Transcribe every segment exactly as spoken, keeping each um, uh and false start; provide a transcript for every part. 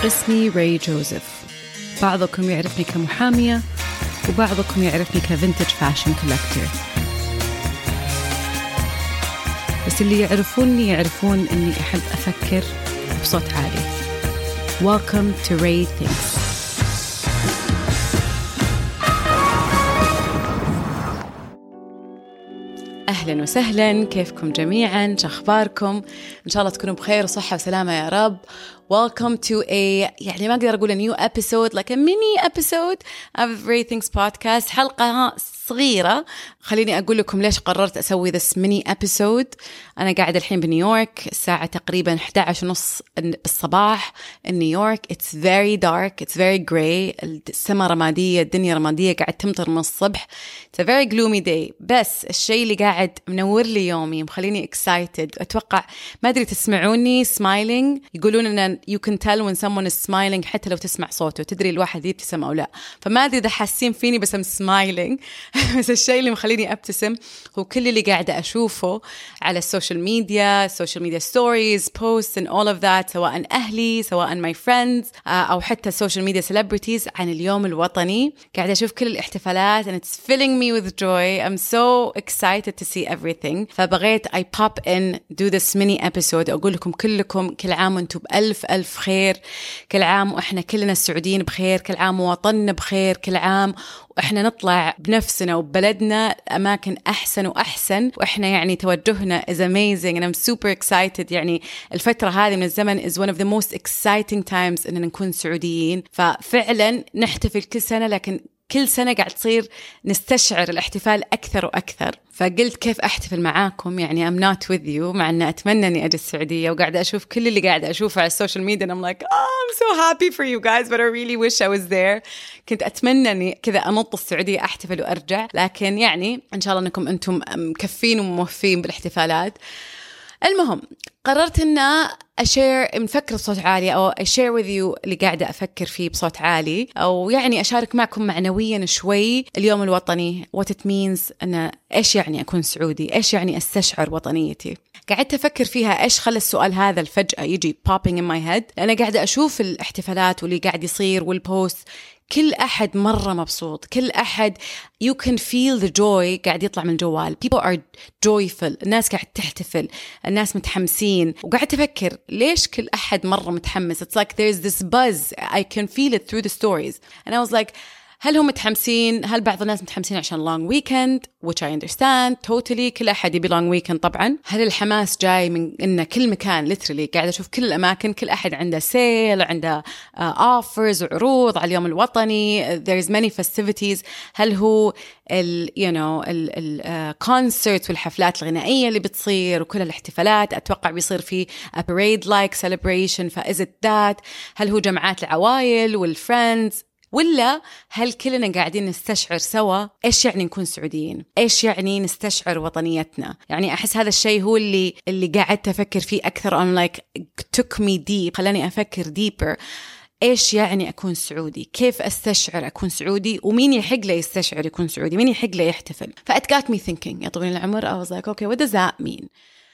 اسمي راي جوزيف. بعضكم يعرفني كمحامية وبعضكم يعرفني كفينتج فاشن كولكتور، بس اللي يعرفوني يعرفون أني أحب أفكر بصوت عالي. Welcome to Ray Thinks. أهلاً وسهلاً، كيفكم جميعاً؟ شخباركم؟ إن شاء الله تكونوا بخير وصحة وسلامة يا رب. Welcome to a يعني ما أقدر أقول a new episode like a mini episode of Ray Thinks podcast. حلقة صغيرة. خليني أقول لكم ليش قررت أسوي this mini episode. أنا قاعدة الحين بنيويورك، الساعة تقريباً إحدى عشر ونص الصباح نيويورك. It's very dark, it's very grey. السماء رمادية، الدنيا رمادية، قاعد تمطر من الصبح. It's a very gloomy day. بس الشيء اللي قاعد منور لي يومي مخليني excited. أتوقع ما أدري تسمعوني smiling، يقولون أن you can tell when someone is smiling حتى لو تسمع صوته، تدري الواحد يبتسم أو لا. فما أدري إذا حاسين فيني بس I'm smiling. بس الشيء اللي مخليني أبتسم هو كل اللي قاعدة أشوفه على السوشيال ميديا، social media stories, posts and all of that، سواء أهلي سواء my friends أو حتى social media celebrities عن اليوم الوطني. قاعدة أشوف كل الاحتفالات and it's filling me with joy. I'm so excited to see everything. فبغيت I pop in do this mini episode أقول لكم كلكم كل عام وانتم بألف ألف خير، كل عام وإحنا كلنا السعوديين بخير، كل عام ووطننا بخير، كل عام وإحنا نطلع بنفسنا وبلدنا أماكن أحسن وأحسن، وإحنا يعني توجهنا is amazing and I'm super excited. يعني الفترة هذه من الزمن is one of the most exciting times إننا نكون سعوديين. ففعلا نحتفل كل سنة، لكن كل سنة قاعد تصير نستشعر الاحتفال أكثر وأكثر. فقلت كيف أحتفل معاكم، يعني I'm not with you، مع أن أتمنى أني أجي السعودية وقاعدة أشوف كل اللي قاعدة أشوفه على السوشيال ميديا and I'm like oh I'm so happy for you guys but I really wish I was there. كنت أتمنى أني كذا أنط السعودية أحتفل وأرجع، لكن يعني إن شاء الله أنكم أنتم مكفين وموفين بالاحتفالات. المهم قررت أن أشير من فكرة صوت عالي أو أشير with you اللي قاعدة أفكر فيه بصوت عالي، أو يعني أشارك معكم معنويا شوي اليوم الوطني what it means، أن إيش يعني أكون سعودي، إيش يعني أستشعر وطنيتي. قاعدة أفكر فيها إيش خلى السؤال هذا الفجأة يجي popping in my head، لأن قاعدة أشوف الاحتفالات واللي قاعد يصير والبوست، كل أحد مرة مبسوط، كل أحد you can feel the joy قاعد يطلع من الجوال. people are joyful، الناس قاعد تحتفل، الناس متحمسين. وقاعد تفكر ليش كل أحد مرة متحمس. it's like there's this buzz I can feel it through the stories and I was like هل هم متحمسين؟ هل بعض الناس متحمسين عشان long weekend which I understand totally، كل أحد يبي long weekend طبعا. هل الحماس جاي من إن كل مكان literally قاعد أشوف كل الأماكن كل أحد عنده sale، عنده uh, offers وعروض على اليوم الوطني. there's many festivities. هل هو ال you know ال ال uh, concert والحفلات الغنائية اللي بتصير وكل الاحتفالات أتوقع بيصير في a parade like celebration، فإز it that؟ هل هو جمعات العوائل والfriends، ولا هل كلنا قاعدين نستشعر سوا إيش يعني نكون سعوديين، إيش يعني نستشعر وطنيتنا؟ يعني أحس هذا الشيء هو اللي اللي قاعدت أفكر فيه أكثر. I'm like took me deep، خلاني أفكر deeper. إيش يعني أكون سعودي؟ كيف أستشعر أكون سعودي؟ ومين يحق له يستشعر يكون سعودي؟ مين يحق له يحتفل؟ فأت got me thinking يا طويل العمر. I was like okay what does that mean؟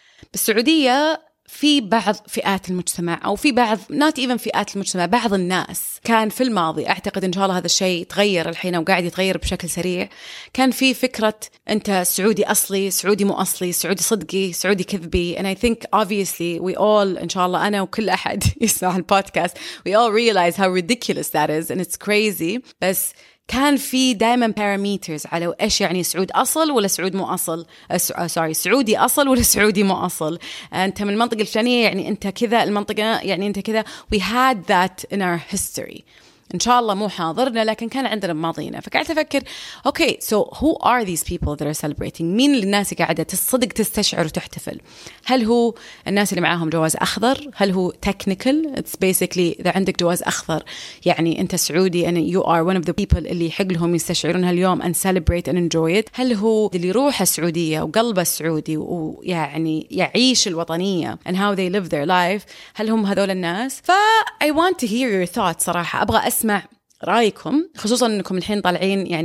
بالسعودية في بعض فئات المجتمع أو في بعض not even فئات المجتمع، بعض الناس كان في الماضي، أعتقد إن شاء الله هذا الشيء تغير الحين وقاعد يتغير بشكل سريع. كان في فكرة أنت سعودي أصلي، سعودي مو أصلي، سعودي صدقي، سعودي كذبي. and I think obviously we all إن شاء الله أنا وكل أحد يسمع البودكاست we all realize how ridiculous that is and it's crazy. بس كان في دائما parameters على إيش يعني سعود أصل ولا سعود مو أصل، سوري سعودي أصل ولا سعودي مو أصل. أنت من المنطقة الفلانية يعني أنت كذا، المنطقة يعني أنت كذا. we had that in our history. إن شاء الله مو حاضرنا لكن كان عندنا بماضينا. فقعدت أفكر okay so who are these people that are celebrating؟ مين الناس اللي قاعدة تصدق تستشعر وتحتفل؟ هل هو الناس اللي معاهم جواز أخضر؟ هل هو technical؟ it's basically إذا عندك جواز أخضر يعني أنت سعودي and you are one of the people اللي يحق لهم يستشعرون هاليوم and celebrate and enjoy it. هل هو اللي يروح السعودية وقلبه السعودي ويعني يعيش الوطنية and how they live their life؟ هل هم هذول الناس؟ ف I want to hear your thoughts صراحة. أبغى أسمع رأيكم، خصوصا أنكم الحين طالعين يعني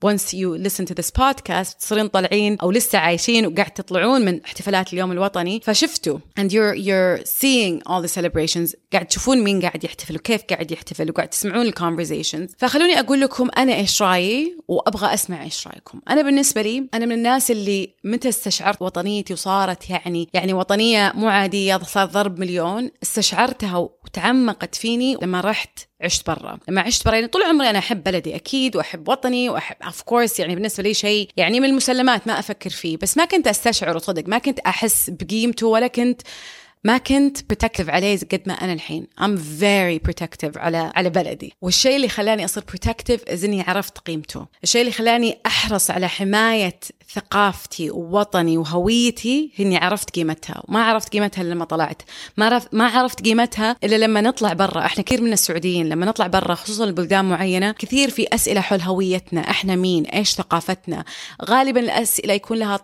once you listen to this podcast تصيرين طالعين أو لسه عايشين وقاعد تطلعون من احتفالات اليوم الوطني فشفتوا and you're you're seeing all the celebrations قاعد تشوفون مين قاعد يحتفل وكيف قاعد يحتفل وقاعد تسمعون ال conversations. فخلوني أقول لكم أنا إيش رأيي وأبغى أسمع إيش رأيكم. أنا بالنسبة لي أنا من الناس اللي متى استشعرت وطنيتي وصارت يعني يعني وطنية مو عادية صار ضرب مليون استشعرتها وتعمقت فيني لما رحت عشت برا. لما عشت برا يعني طول عمري أنا أحب بلدي أكيد وأحب وطني وأحب of course يعني بالنسبة لي شيء يعني من المسلمات ما أفكر فيه بس ما كنت أستشعر وصدق ما كنت أحس بقيمته ولا كنت ما كنت protective عليه قد ما أنا الحين. I'm very protective على على بلدي والشيء اللي خلاني أصير protective إذ إني عرفت قيمته. الشيء اللي خلاني أحرص على حماية ثقافتي ووطني وهويتي إني عرفت قيمتها وما عرفت قيمتها لما طلعت ما عرفت ما عرفت قيمتها إلا لما نطلع برا. إحنا كثير من السعوديين لما نطلع برا خصوصا البلدان معينة كثير في أسئلة حول هويتنا إحنا مين إيش ثقافتنا. غالبا الأسئلة يكون لها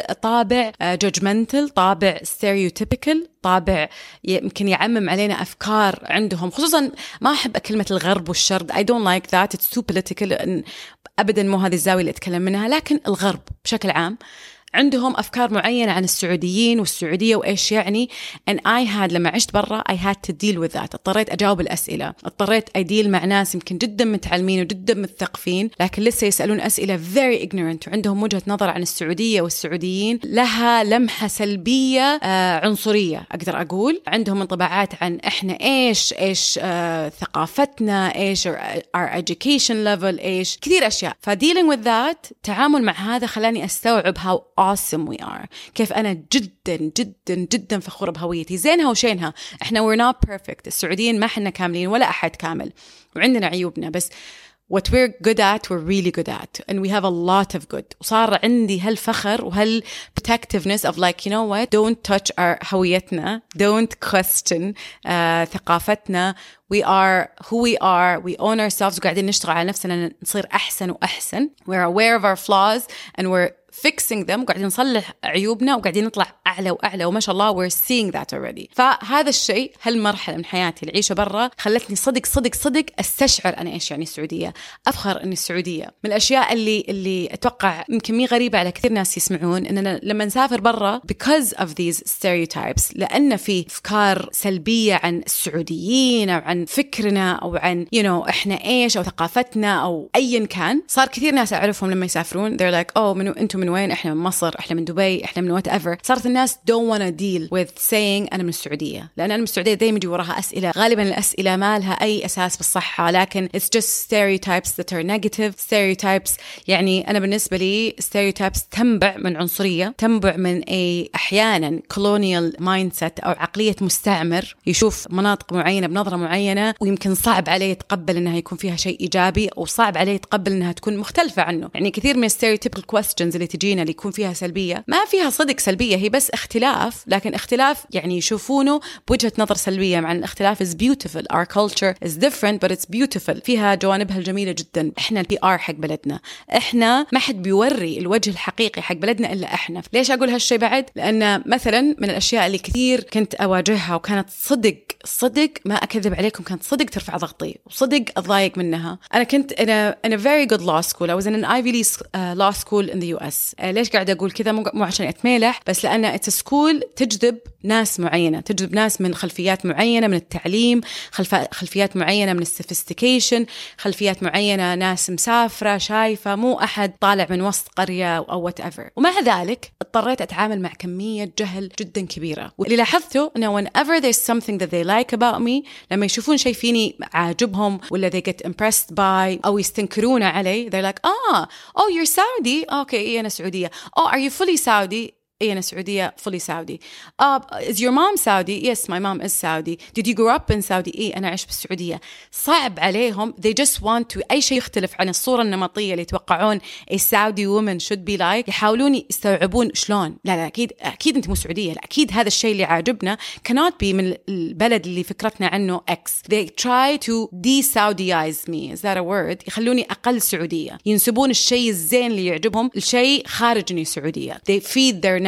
طابع judgmental طابع stereotypical طابع يمكن يعمم علينا أفكار عندهم خصوصا ما أحب كلمة الغرب والشرق I don't like that it's too political أبدا مو هذه الزاوية اللي أتكلم منها لكن الغرب بشكل عام عندهم أفكار معينة عن السعوديين والسعودية وإيش يعني and I had لما عشت برا I had to deal with that. اضطريت أجاوب الأسئلة اضطريت أديل مع ناس يمكن جدا متعلمين وجدا مثقفين لكن لسه يسألون أسئلة very ignorant وعندهم وجهة نظر عن السعودية والسعوديين لها لمحة سلبية آه عنصرية أقدر أقول. عندهم انطباعات عن إحنا إيش إيش آه ثقافتنا إيش our education level إيش كثير أشياء. ف dealing with that تعامل مع هذا خلاني أستوعب how awesome we are. كيف أنا جدا جدا جدا فخورة بهويتي زينها وشينها. إحنا we're not perfect. السعوديين ما حنا كاملين ولا أحد كامل وعندنا عيوبنا بس what we're good at we're really good at and we have a lot of good. وصار عندي هالفخر وهال protectiveness of like you know what don't touch our هويتنا don't question uh, ثقافتنا. We are who we are. We own ourselves. وقاعدين نشتغل على نفسنا نصير أحسن وأحسن. We're aware of our flaws and we're fixing them. وقاعدين نصلح عيوبنا وقاعدين نطلع أعلى وأعلى وما شاء الله we're seeing that already. فهذا الشيء هالمرحلة من حياتي العيشة برا خلتني صدق صدق صدق أستشعر أنا إيش يعني السعودية. أفخر إني السعودية. من الأشياء اللي اللي أتوقع يمكن مي غريبة على كثير ناس يسمعون إننا لما نسافر برا because of these stereotypes لأن في أفكار سلبية عن السعوديين أو عن فكرنا أو عن you know إحنا إيش أو ثقافتنا أو أيا كان. صار كثير ناس أعرفهم لما يسافرون they're like oh منو أنتم من وين؟ إحنا من مصر إحنا من دبي إحنا من whatever. صارت الناس don't wanna deal with saying أنا من السعودية لأن أنا من السعودية دايما يجي وراها أسئلة غالبا الأسئلة ما لها أي أساس بالصحة لكن it's just stereotypes that are negative stereotypes. يعني أنا بالنسبة لي stereotypes تنبع من عنصرية تنبع من أي أحيانا colonial mindset أو عقلية مستعمر يشوف مناطق معينة بنظرة معينة ويمكن صعب عليه يتقبل أنها يكون فيها شيء إيجابي أو صعب عليه يتقبل أنها تكون مختلفة عنه. يعني كثير من stereotypical questions اللي تجينا اللي يكون فيها سلبية ما فيها صدق سلبية هي بس اختلاف لكن اختلاف يعني يشوفونه بوجهة نظر سلبية مع الاختلاف is beautiful. Our culture is different but it's beautiful. فيها جوانبها الجميلة جدا. احنا البي ار حق بلدنا احنا ما حد بيوري الوجه الحقيقي حق بلدنا إلا احنا. ليش أقول هالشي بعد؟ لأن مثلا من الأشياء اللي كثير كنت أواجهها وكانت صدق صدق ما أكذب عليكم كانت صدق ترفع ضغطي وصدق أضايق منها. أنا كنت in a, in a very good law school. I was in an Ivy League uh, law school in the U S. uh, ليش قاعدة أقول كذا؟ مو, مو عشان أتميلح بس لأن it's a school تجذب ناس معينة تجذب ناس من خلفيات معينة من التعليم خلف... خلفيات معينة من السوفيستيكيشن خلفيات معينة ناس مسافرة شايفة مو أحد طالع من وسط قرية أو whatever. ومع ذلك اضطريت أتعامل مع كمية جهل جدا كبيرة. واللي لاحظته أنه whenever there's something that they like about me لما يشوفون شيء فيني عاجبهم ولا they get impressed by أو يستنكرون علي they're like ah oh you're Saudi okay إيه أنا سعودية oh are you fully Saudi إيه أنا سعودية fully Saudi. uh, is your mom Saudi? Yes my mom is Saudi. Did you grow up in Saudi? إيه أنا عشت بالسعودية. صعب عليهم they just want to أي شيء يختلف عن الصورة النمطية اللي يتوقعون a Saudi woman should be like يحاولون يستوعبون شلون لا لا أكيد أكيد أنت مو سعودية لا أكيد هذا الشيء اللي عاجبنا cannot be من البلد اللي فكرتنا عنه X. they try to de-Saudaize me is that a word يخلوني أقل سعودية ينسبون الشيء الزين اللي يعجبهم الشيء خارج إني سعودية. they feed their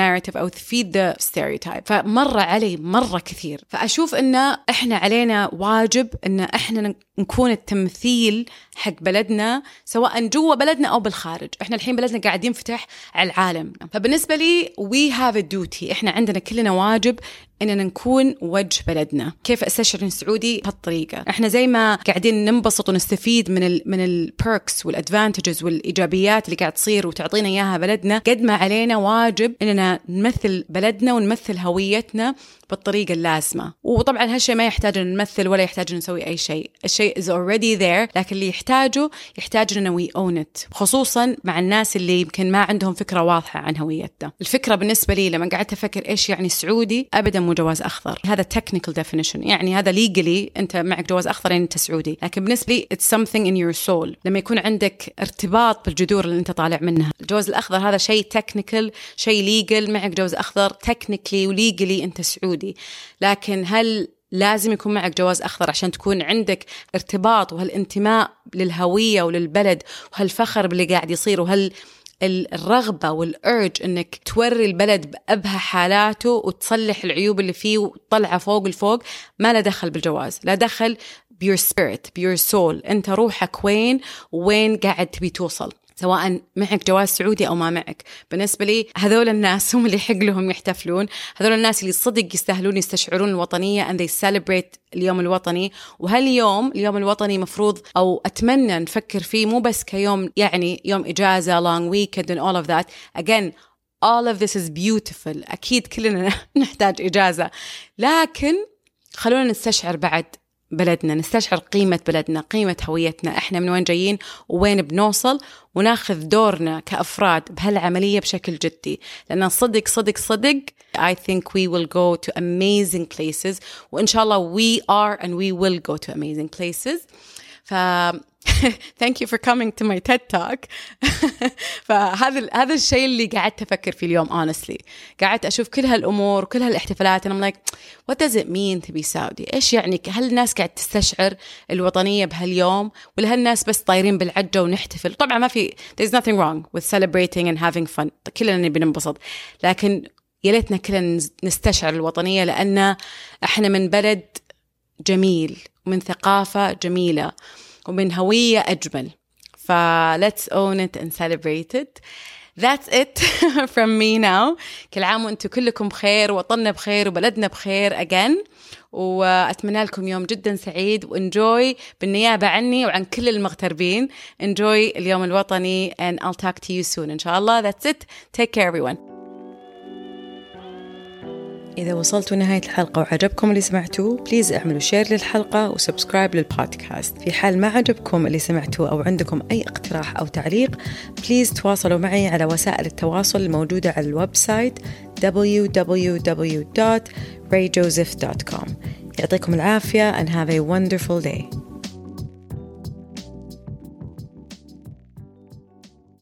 narrative أو تفيد the stereotype. فمرة علي مرة كثير. فأشوف إن إحنا علينا واجب إن إحنا نكون التمثيل حق بلدنا سواء جوا بلدنا أو بالخارج. إحنا الحين بلدنا قاعد ينفتح على العالم. فبالنسبة لي we have a duty. إحنا عندنا كلنا واجب إننا نكون وجه بلدنا. كيف أستشعر سعودي بهالطريقة؟ إحنا زي ما قاعدين ننبسط ونستفيد من ال من البيركس والأدفانتجز والإيجابيات اللي قاعد تصير وتعطينا إياها بلدنا، قد ما علينا واجب إننا نمثل بلدنا ونمثل هويتنا بالطريقة اللازمة. وطبعا هالشيء ما يحتاج أن نمثل ولا يحتاج أن نسوي أي شيء. الشيء is already there، لكن اللي يحتاجه يحتاج أننا we own it، خصوصا مع الناس اللي يمكن ما عندهم فكرة واضحة عن هويتنا. الفكرة بالنسبة لي لما قعدت أفكر إيش يعني سعودي، أبدا مو جواز أخضر. هذا technical definition، يعني هذا legally أنت معك جواز أخضر يعني أنت سعودي، لكن بالنسبة لي it's something in your soul. لما يكون عندك ارتباط بالجذور اللي أنت طالع منها. الجواز الأخضر هذا شيء technical، شيء legal، معك جواز أخضر technically و legally أنت سعودي. لكن هل لازم يكون معك جواز أخضر عشان تكون عندك ارتباط وهالانتماء للهوية وللبلد وهالفخر باللي قاعد يصير وهال الرغبة والأرج إنك توري البلد بأبهى حالاته وتصلح العيوب اللي فيه وتطلعه فوق الفوق؟ ما لا دخل بالجواز، لا دخل بيور spirit بيور soul. أنت روحك وين وين قاعد تبي توصل، سواء معك جواز سعودي أو ما معك. بالنسبة لي هذول الناس هم اللي يحق لهم يحتفلون، هذول الناس اللي صدق يستاهلون يستشعرون الوطنية and they celebrate اليوم الوطني. وهاليوم اليوم الوطني مفروض أو أتمنى نفكر فيه مو بس كيوم يعني يوم إجازة long weekend and all of that. Again all of this is beautiful، أكيد كلنا نحتاج إجازة، لكن خلونا نستشعر بعد بلدنا، نستشعر قيمة بلدنا، قيمة هويتنا، إحنا من وين جايين وين بنوصل، وناخذ دورنا كأفراد بهالعملية بشكل جدي. لأن صدق صدق صدق I think we will go to amazing places، وإن شاء الله we are and we will go to amazing places. ف thank you for coming to my TED Talk. فهذا هذا الشيء اللي قعدت أفكر فيه اليوم honestly. قعدت أشوف كل هالأمور وكل هالاحتفالات and I'm like what does it mean to be Saudi؟ إيش يعني؟ هل الناس قاعد تستشعر الوطنية بهاليوم ولا هالناس بس طايرين بالعجة ونحتفل؟ طبعا ما في there's nothing wrong with celebrating and having fun، كلنا نبي ننبسط، لكن يا ليتنا كلنا نستشعر الوطنية، لأن إحنا من بلد جميل ومن ثقافة جميلة ومن هوية أجمل. ف let's own it and celebrate it. That's it from me now. كل عام وأنتم كلكم بخير، وطننا بخير، وبلدنا بخير again. وأتمنى لكم يوم جدا سعيد، وenjoy بالنيابة عني وعن كل المغتربين. Enjoy اليوم الوطني and I'll talk to you soon إن شاء الله. That's it. Take care everyone. إذا وصلتوا نهاية الحلقة وعجبكم اللي سمعتوه، بليز اعملوا شير للحلقة وسبسكرايب للبودكاست. في حال ما عجبكم اللي سمعتوه أو عندكم أي اقتراح أو تعليق، بليز تواصلوا معي على وسائل التواصل الموجودة على الويب سايت دبليو دبليو دبليو دوت راي جوزيف دوت كوم. يعطيكم العافية and have a wonderful day.